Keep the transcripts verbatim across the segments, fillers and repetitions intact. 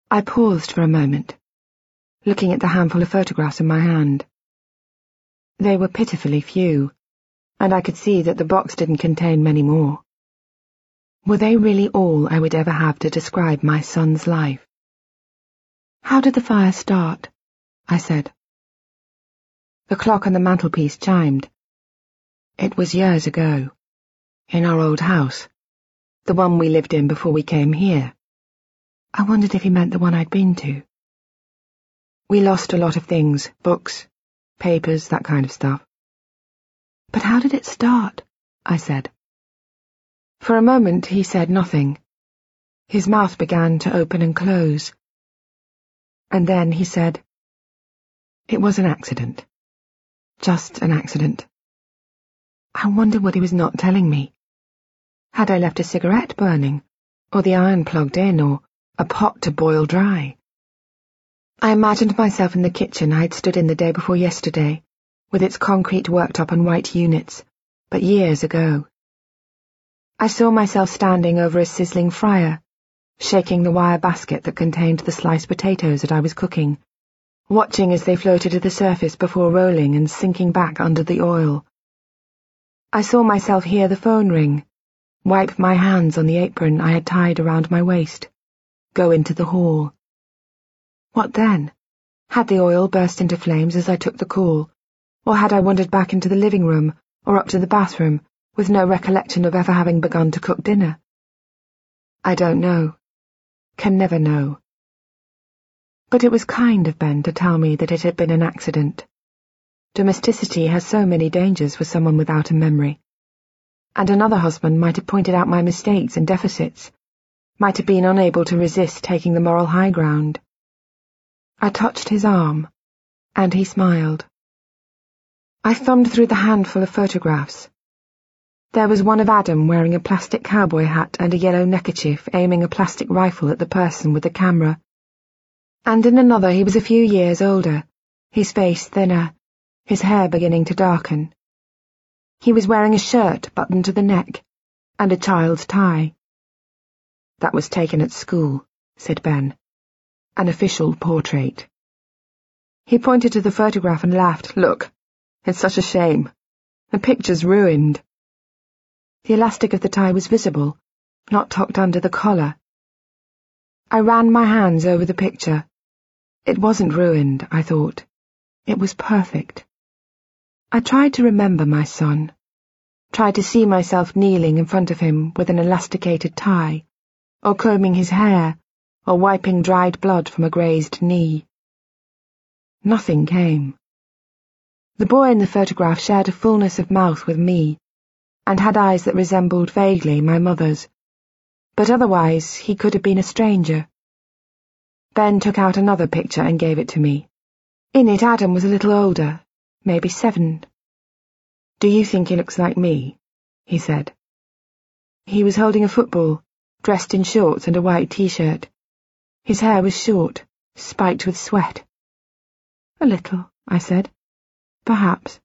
I paused for a moment, looking at the handful of photographs in my hand. They were pitifully few, and I could see that the box didn't contain many more. Were they really all I would ever have to describe my son's life? "How did the fire start?" I said. The clock on the mantelpiece chimed. It was years ago, in our old house, the one we lived in before we came here. I wondered if he meant the one I'd been to. We lost a lot of things, books, papers, that kind of stuff. "But how did it start?" I said. For a moment he said nothing. His mouth began to open and close. And then he said, "It was an accident. Just an accident." I wondered what he was not telling me. Had I left a cigarette burning, or the iron plugged in, or a pot to boil dry? I imagined myself in the kitchen I had stood in the day before yesterday, with its concrete worktop and white units, but years ago. I saw myself standing over a sizzling fryer, shaking the wire basket that contained the sliced potatoes that I was cooking, watching as they floated to the surface before rolling and sinking back under the oil. I saw myself hear the phone ring, wipe my hands on the apron I had tied around my waist, go into the hall. What then? Had the oil burst into flames as I took the call, or had I wandered back into the living room or up to the bathroom with no recollection of ever having begun to cook dinner? I don't know. Can never know. But it was kind of Ben to tell me that it had been an accident. Domesticity has so many dangers for someone without a memory. And another husband might have pointed out my mistakes and deficits, might have been unable to resist taking the moral high ground. I touched his arm, and he smiled. I thumbed through the handful of photographs. There was one of Adam wearing a plastic cowboy hat and a yellow neckerchief aiming a plastic rifle at the person with the camera. And in another he was a few years older, his face thinner, his hair beginning to darken. He was wearing a shirt buttoned to the neck, and a child's tie. "That was taken at school," said Ben. "An official portrait." He pointed to the photograph and laughed. "Look, it's such a shame. The picture's ruined." The elastic of the tie was visible, not tucked under the collar. I ran my hands over the picture. It wasn't ruined, I thought. It was perfect. I tried to remember my son, tried to see myself kneeling in front of him with an elasticated tie, or combing his hair, or wiping dried blood from a grazed knee. Nothing came. The boy in the photograph shared a fullness of mouth with me, and had eyes that resembled vaguely my mother's, but otherwise he could have been a stranger. Ben took out another picture and gave it to me. In it Adam was a little older, maybe seven. "Do you think he looks like me?" he said. He was holding a football, dressed in shorts and a white t-shirt. His hair was short, spiked with sweat. "A little," I said. "Perhaps."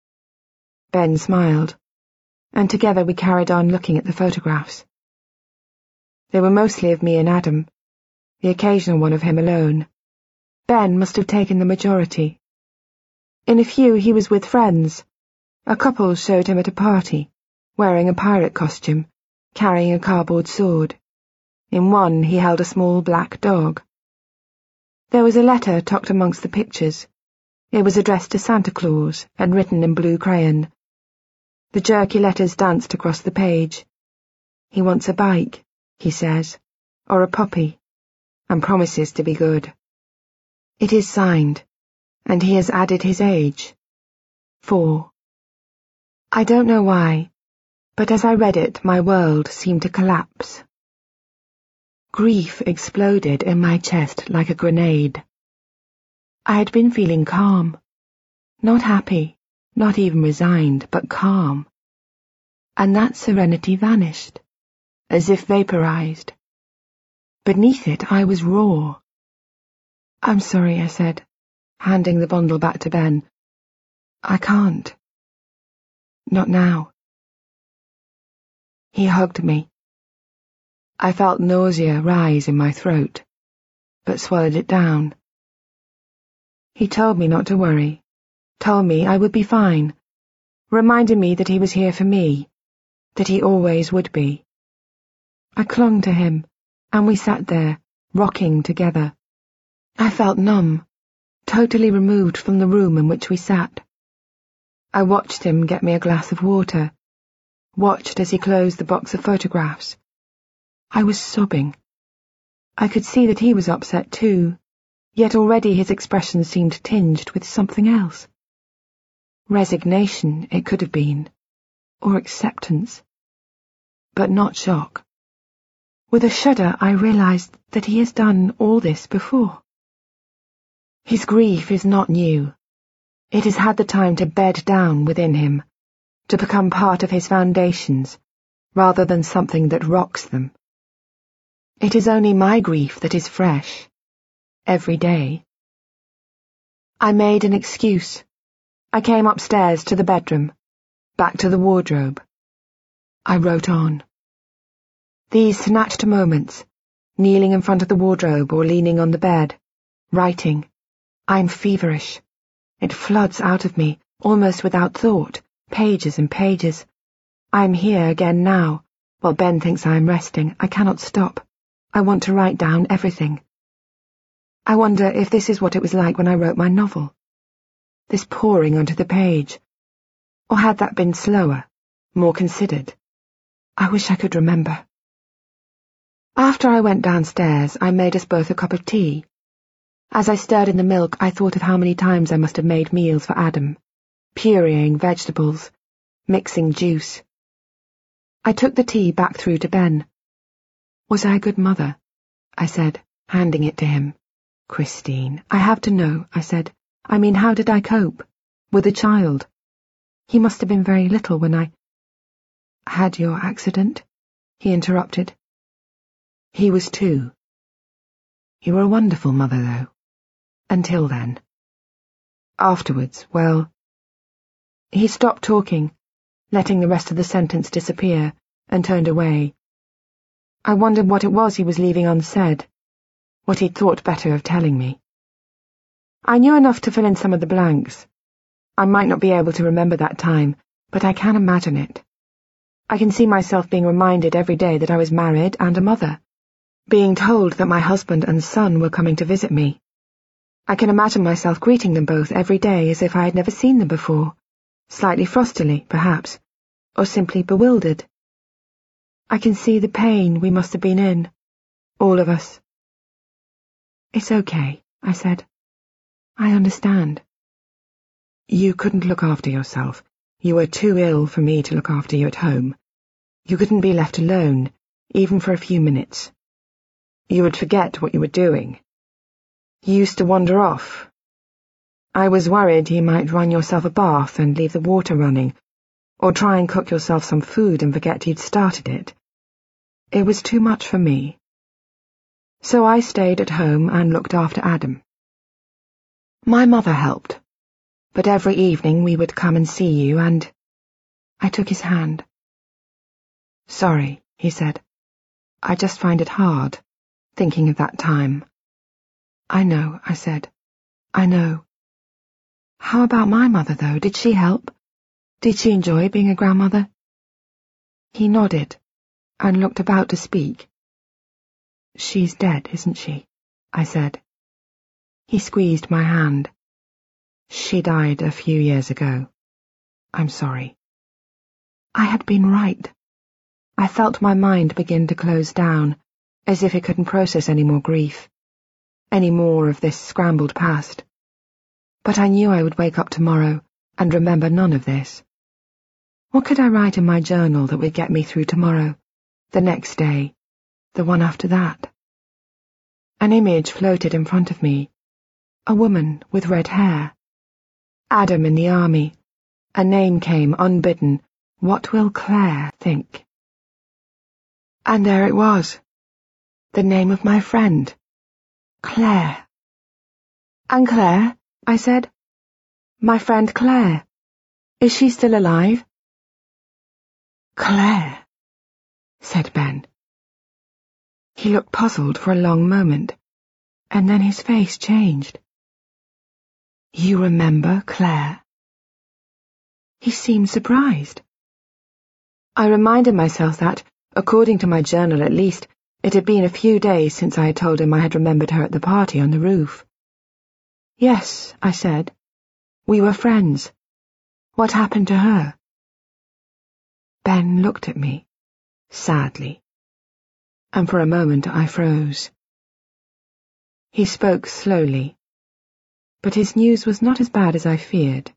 Ben smiled, and together we carried on looking at the photographs. They were mostly of me and Adam, the occasional one of him alone. Ben must have taken the majority. In a few he was with friends. A couple showed him at a party, wearing a pirate costume, carrying a cardboard sword. In one he held a small black dog. There was a letter tucked amongst the pictures. It was addressed to Santa Claus and written in blue crayon. The jerky letters danced across the page. He wants a bike, he says, or a puppy, and promises to be good. It is signed, and he has added his age. Four. I don't know why, but as I read it, my world seemed to collapse. Grief exploded in my chest like a grenade. I had been feeling calm, not happy, not even resigned, but calm. And that serenity vanished, as if vaporized. Beneath it I was raw. "I'm sorry," I said, handing the bundle back to Ben. "I can't. Not now." He hugged me. I felt nausea rise in my throat. but swallowed it down. He told me not to worry, told me I would be fine, reminded me that he was here for me, that he always would be. I clung to him, and we sat there, rocking together. I felt numb, totally removed from the room in which we sat. I watched him get me a glass of water, watched as he closed the box of photographs. I was sobbing. I could see that he was upset too, yet already his expression seemed tinged with something else. Resignation, it could have been, or acceptance, but not shock. With a shudder, I realized that he has done all this before. His grief is not new. It has had the time to bed down within him, to become part of his foundations, rather than something that rocks them. It is only my grief that is fresh, every day. I made an excuse. I came upstairs to the bedroom, back to the wardrobe. I wrote on. These snatched moments, kneeling in front of the wardrobe or leaning on the bed, writing. I'm feverish. It floods out of me, almost without thought, pages and pages. I am here again now, while Ben thinks I am resting. I cannot stop. I want to write down everything. I wonder if this is what it was like when I wrote my novel. This pouring onto the page. Or had that been slower, more considered? I wish I could remember. After I went downstairs, I made us both a cup of tea. As I stirred in the milk, I thought of how many times I must have made meals for Adam, pureeing vegetables, mixing juice. I took the tea back through to Ben. Was I a good mother? I said, handing it to him. Christine, I have to know, I said. I mean, how did I cope? With a child? He must have been very little when I... Had your accident? He interrupted. He was two. You were a wonderful mother, though. Until then. Afterwards, well... He stopped talking, letting the rest of the sentence disappear, and turned away. I wondered what it was he was leaving unsaid, what he'd thought better of telling me. I knew enough to fill in some of the blanks. I might not be able to remember that time, but I can imagine it. I can see myself being reminded every day that I was married and a mother, being told that my husband and son were coming to visit me. I can imagine myself greeting them both every day as if I had never seen them before, slightly frostily, perhaps, or simply bewildered. I can see the pain we must have been in, all of us. It's okay, I said. I understand. You couldn't look after yourself. You were too ill for me to look after you at home. You couldn't be left alone, even for a few minutes. You would forget what you were doing. You used to wander off. I was worried you might run yourself a bath and leave the water running, or try and cook yourself some food and forget you'd started it. It was too much for me. So I stayed at home and looked after Adam. My mother helped, but every evening we would come and see you, and... I took his hand. Sorry, he said. I just find it hard, thinking of that time. I know, I said. I know. How about my mother, though? Did she help? Did she enjoy being a grandmother? He nodded, and looked about to speak. She's dead, isn't she? I said. He squeezed my hand. She died a few years ago. I'm sorry. I had been right. I felt my mind begin to close down, as if it couldn't process any more grief, any more of this scrambled past. But I knew I would wake up tomorrow and remember none of this. What could I write in my journal that would get me through tomorrow, the next day, the one after that? An image floated in front of me, a woman with red hair. Adam in the army. A name came unbidden. What will Claire think? And there it was. The name of my friend. Claire. And Claire, I said. My friend Claire. Is she still alive? Claire, said Ben. He looked puzzled for a long moment. and then his face changed. "You remember Claire?" He seemed surprised. I reminded myself that, according to my journal at least, it had been a few days since I had told him I had remembered her at the party on the roof. "Yes," I said. "We were friends. What happened to her?" Ben looked at me, sadly, and for a moment I froze. He spoke slowly, but his news was not as bad as I feared.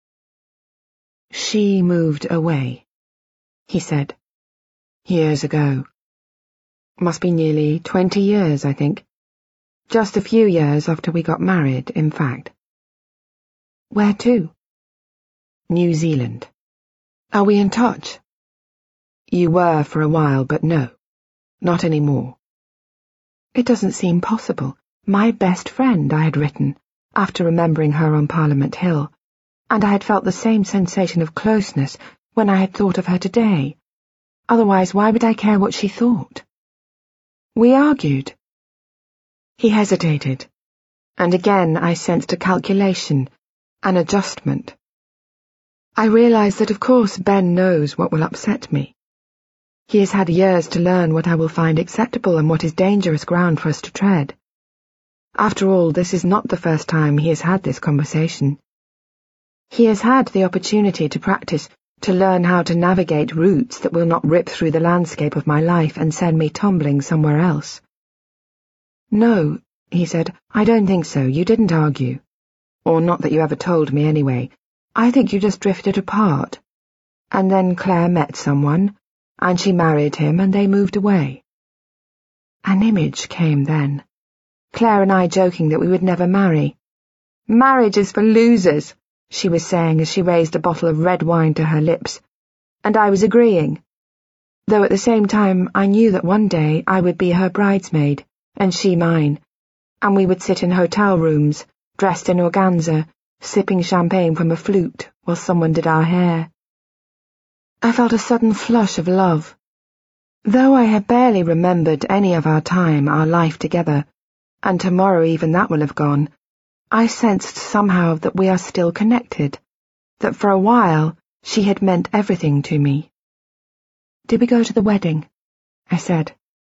"She moved away," he said, "years ago. Must be nearly twenty years, I think. Just a few years after we got married, in fact." "Where to?" "New Zealand." "Are we in touch?" "You were for a while, but no, not anymore." It doesn't seem possible. My best friend, I had written, after remembering her on Parliament Hill, and I had felt the same sensation of closeness when I had thought of her today. Otherwise, why would I care what she thought? "We argued." He hesitated, and again I sensed a calculation, an adjustment. I realized that of course Ben knows what will upset me. He has had years to learn what I will find acceptable and what is dangerous ground for us to tread. After all, this is not the first time he has had this conversation. He has had the opportunity to practice, to learn how to navigate routes that will not rip through the landscape of my life and send me tumbling somewhere else. "No," he said, "I don't think so. You didn't argue. Or not that you ever told me anyway. I think you just drifted apart. And then Claire met someone, and she married him, and they moved away." An image came then. Claire and I joking that we would never marry. "Marriage is for losers," she was saying as she raised a bottle of red wine to her lips, and I was agreeing, though at the same time I knew that one day I would be her bridesmaid, and she mine, and we would sit in hotel rooms, dressed in organza, sipping champagne from a flute while someone did our hair. I felt a sudden flush of love. Though I had barely remembered any of our time, our life together, and tomorrow even that will have gone, I sensed somehow that we are still connected, that for a while she had meant everything to me. "Did we go to the wedding?" I said.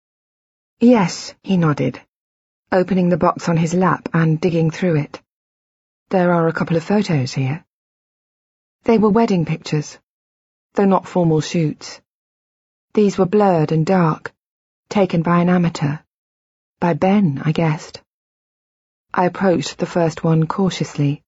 "Yes," he nodded, opening the box on his lap and digging through it. "There are a couple of photos here." They were wedding pictures, though not formal shoots. These were blurred and dark, taken by an amateur. By Ben, I guessed. I approached the first one cautiously.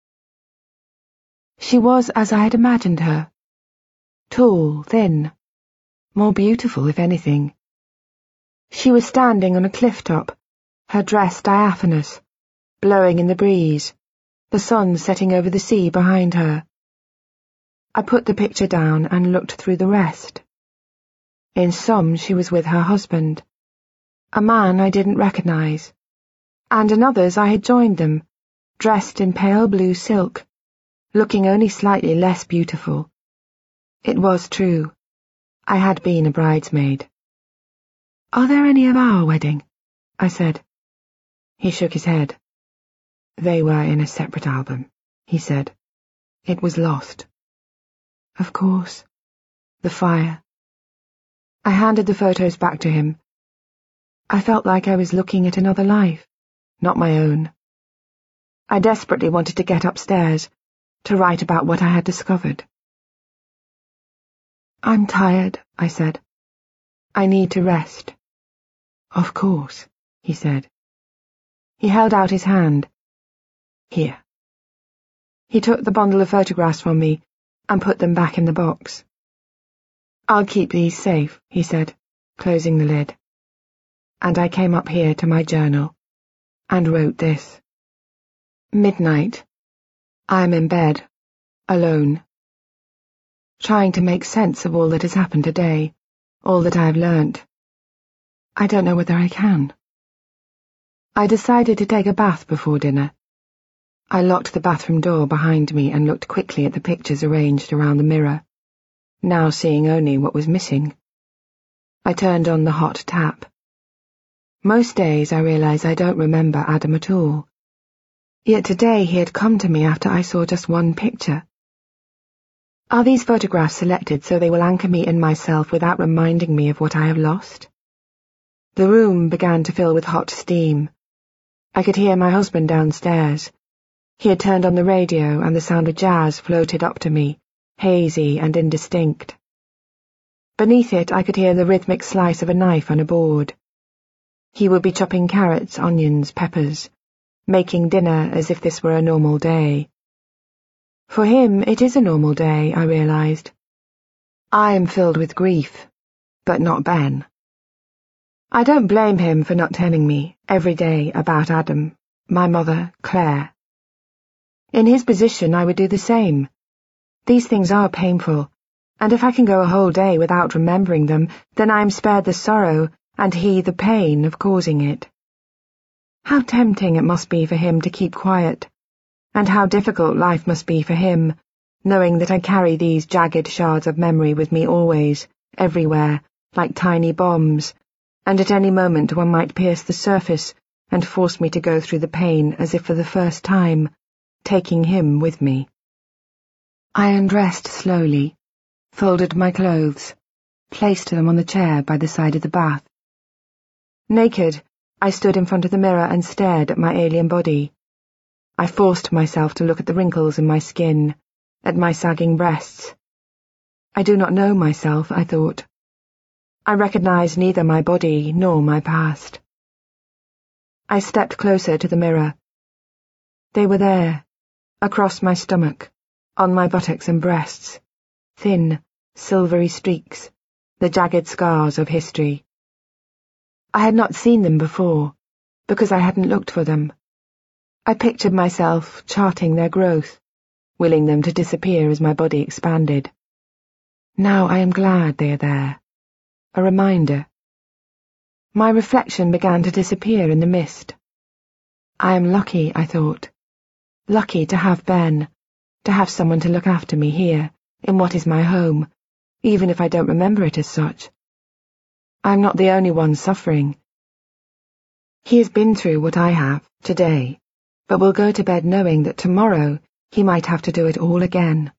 She was as I had imagined her. Tall, thin, more beautiful, if anything. She was standing on a cliff top, her dress diaphanous, blowing in the breeze, the sun setting over the sea behind her. I put the picture down and looked through the rest. In some she was with her husband, a man I didn't recognize, and in others I had joined them, dressed in pale blue silk, looking only slightly less beautiful. It was true. I had been a bridesmaid. "Are there any of our wedding?" I said. He shook his head. "They were in a separate album," he said. "It was lost." Of course. The fire. I handed the photos back to him. I felt like I was looking at another life, not my own. I desperately wanted to get upstairs, to write about what I had discovered. "I'm tired," I said. "I need to rest." "Of course," he said. He held out his hand. "Here." He took the bundle of photographs from me and put them back in the box. "I'll keep these safe," he said, closing the lid. And I came up here to my journal and wrote this. Midnight. I am in bed, alone, trying to make sense of all that has happened today, all that I have learnt. I don't know whether I can. I decided to take a bath before dinner. I locked the bathroom door behind me and looked quickly at the pictures arranged around the mirror, now seeing only what was missing. I turned on the hot tap. Most days I realize I don't remember Adam at all. Yet today he had come to me after I saw just one picture. Are these photographs selected so they will anchor me in myself without reminding me of what I have lost? The room began to fill with hot steam. I could hear my husband downstairs. He had turned on the radio and the sound of jazz floated up to me, hazy and indistinct. Beneath it I could hear the rhythmic slice of a knife on a board. He would be chopping carrots, onions, peppers, making dinner as if this were a normal day. For him, it is a normal day, I realized. I am filled with grief, but not Ben. I don't blame him for not telling me, every day, about Adam, my mother, Claire. In his position, I would do the same. These things are painful, and if I can go a whole day without remembering them, then I am spared the sorrow and he the pain of causing it. How tempting it must be for him to keep quiet, and how difficult life must be for him, knowing that I carry these jagged shards of memory with me always, everywhere, like tiny bombs, and at any moment one might pierce the surface and force me to go through the pain as if for the first time, taking him with me. I undressed slowly, folded my clothes, placed them on the chair by the side of the bath. Naked, I stood in front of the mirror and stared at my alien body. I forced myself to look at the wrinkles in my skin, at my sagging breasts. I do not know myself, I thought. I recognized neither my body nor my past. I stepped closer to the mirror. They were there, across my stomach, on my buttocks and breasts, thin, silvery streaks, the jagged scars of history. I had not seen them before, because I hadn't looked for them. I pictured myself charting their growth, willing them to disappear as my body expanded. Now I am glad they are there. A reminder. My reflection began to disappear in the mist. I am lucky, I thought. Lucky to have Ben, to have someone to look after me here, in what is my home, even if I don't remember it as such. I'm not the only one suffering. He has been through what I have, today, but will go to bed knowing that tomorrow he might have to do it all again.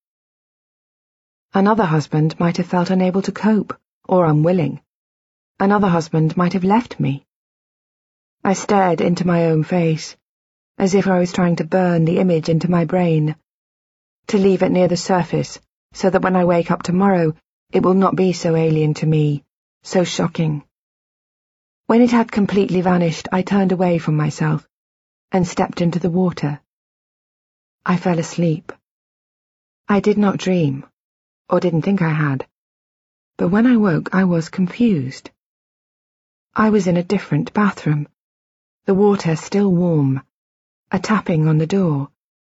Another husband might have felt unable to cope, or unwilling. Another husband might have left me. I stared into my own face, as if I was trying to burn the image into my brain, to leave it near the surface, so that when I wake up tomorrow, it will not be so alien to me, so shocking. When it had completely vanished, I turned away from myself and stepped into the water. I fell asleep. I did not dream, or didn't think I had, but when I woke I was confused. I was in a different bathroom, the water still warm, a tapping on the door.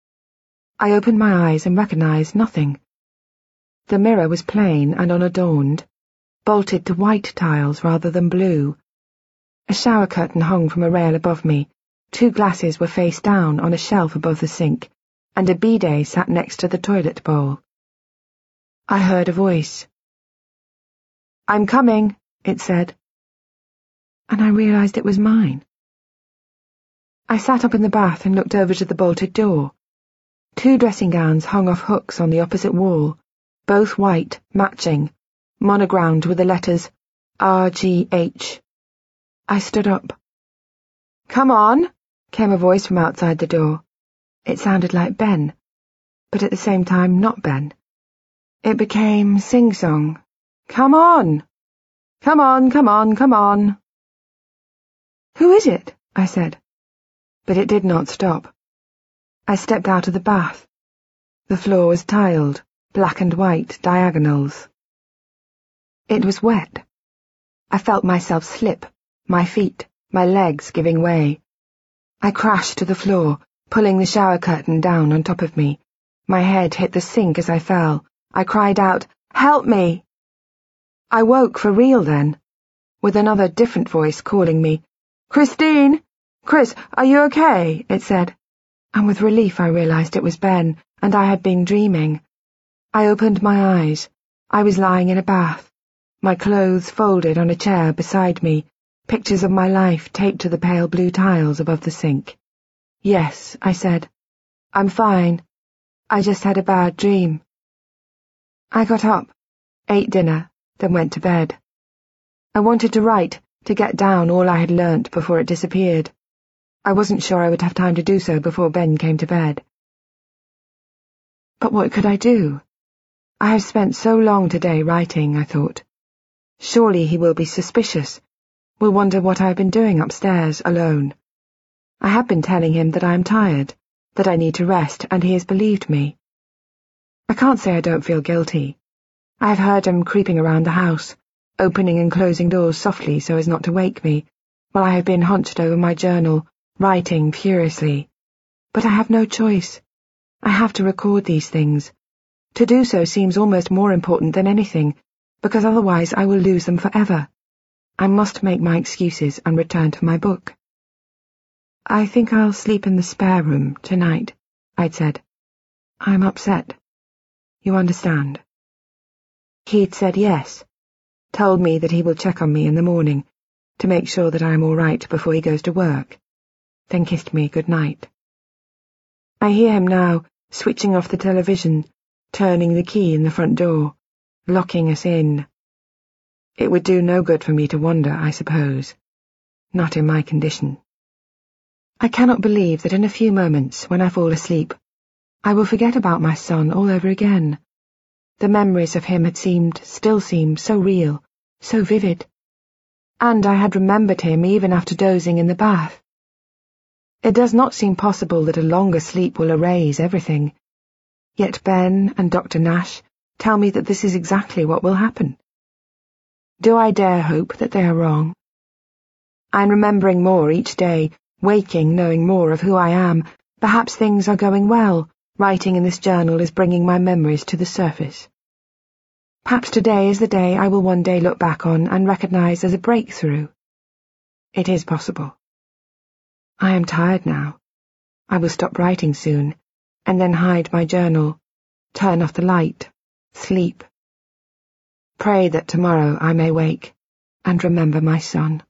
I opened my eyes and recognized nothing. The mirror was plain and unadorned, bolted to white tiles rather than blue. A shower curtain hung from a rail above me, two glasses were face down on a shelf above the sink, and a bidet sat next to the toilet bowl. I heard a voice. "I'm coming," it said, and I realized it was mine. I sat up in the bath and looked over to the bolted door. Two dressing gowns hung off hooks on the opposite wall, both white, matching, monogrammed with the letters R G H. I stood up. "Come on," came a voice from outside the door. It sounded like Ben, but at the same time not Ben. It became sing-song. "Come on! Come on, come on, come on!" "Who is it?" I said. But it did not stop. I stepped out of the bath. The floor was tiled, black and white diagonals. It was wet. I felt myself slip, my feet, my legs giving way. I crashed to the floor, pulling the shower curtain down on top of me. My head hit the sink as I fell. I cried out, "Help me!" I woke for real then, with another different voice calling me. "Christine! Chris, are you okay?" it said, and with relief I realized it was Ben, and I had been dreaming. I opened my eyes. I was lying in a bath, my clothes folded on a chair beside me, pictures of my life taped to the pale blue tiles above the sink. "Yes," I said. "I'm fine. I just had a bad dream." I got up, ate dinner, then went to bed. I wanted to write, to get down all I had learnt before it disappeared. I wasn't sure I would have time to do so before Ben came to bed. But what could I do? I have spent so long today writing, I thought. Surely he will be suspicious, will wonder what I have been doing upstairs, alone. I have been telling him that I am tired, that I need to rest, and he has believed me. I can't say I don't feel guilty. I have heard him creeping around the house, opening and closing doors softly so as not to wake me, while I have been hunched over my journal, writing furiously. But I have no choice. I have to record these things. To do so seems almost more important than anything, because otherwise I will lose them forever. I must make my excuses and return to my book. "I think I'll sleep in the spare room tonight," I'd said. "I'm upset. You understand?" He'd said yes, told me that he will check on me in the morning, to make sure that I am all right before he goes to work, then kissed me good night. I hear him now, switching off the television, turning the key in the front door, locking us in. It would do no good for me to wander, I suppose. Not in my condition. I cannot believe that in a few moments, when I fall asleep, I will forget about my son all over again. The memories of him had seemed, still seem, so real, so vivid. And I had remembered him even after dozing in the bath. It does not seem possible that a longer sleep will erase everything. Yet Ben and Doctor Nash tell me that this is exactly what will happen. Do I dare hope that they are wrong? I'm remembering more each day, waking knowing more of who I am. Perhaps things are going well. Writing in this journal is bringing my memories to the surface. Perhaps today is the day I will one day look back on and recognize as a breakthrough. It is possible. I am tired now. I will stop writing soon, and then hide my journal, turn off the light, sleep. Pray that tomorrow I may wake and remember my son.